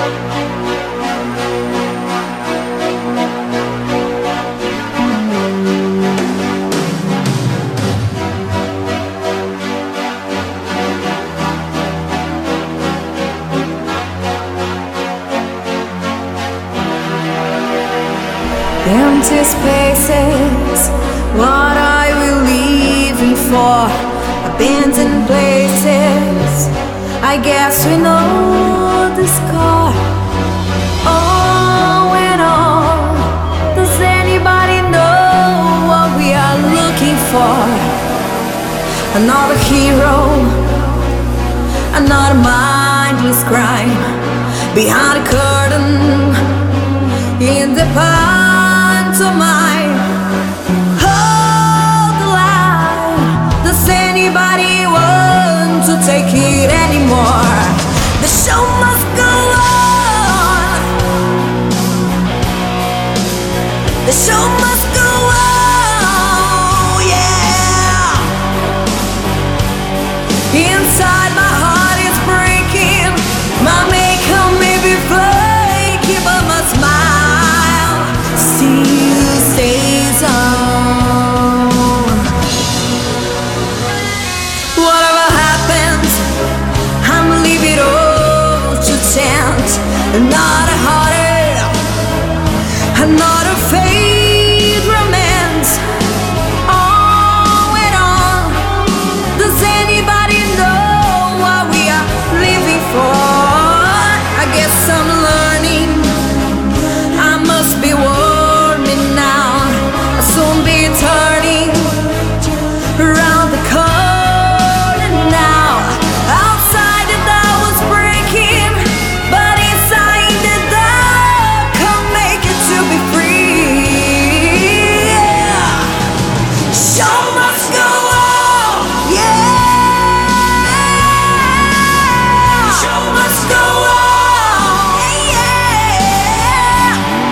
Empty spaces, what are we leaving for? Abandoned places, I guess we know the score. Oh, and on, does anybody know what we are looking for? Another hero, another mindless crime, behind a curtain, in the past. To mine, hold the line. Does anybody want to take it anymore? The show must go on. The show must go on, yeah. Inside my heart is breaking. My makeup may be flaky, but my smile stays on. Whatever happens, I'm leaving it all to chance. Another heartache, another fade romance. On and on. Does anybody know what we are living for? I guess I'm learning. I must be warning now. I'll soon be turning around the corner now. Outside the door was breaking, but inside the door can't make it to be free. Yeah. Show must go on, yeah. Show must go on, yeah.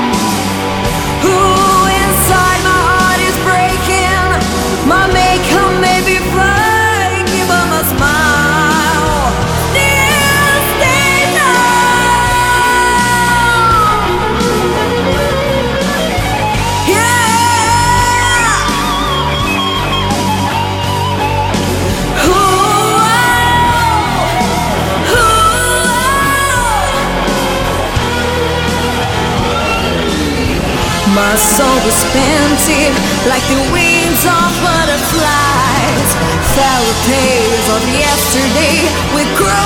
Ooh, inside my heart is breaking. My makeup may be flaky, but my smile still stays on. Yeah. Ooh, ooh. My soul was painted like the wings of butterflies. Fairy tales of yesterday with crows.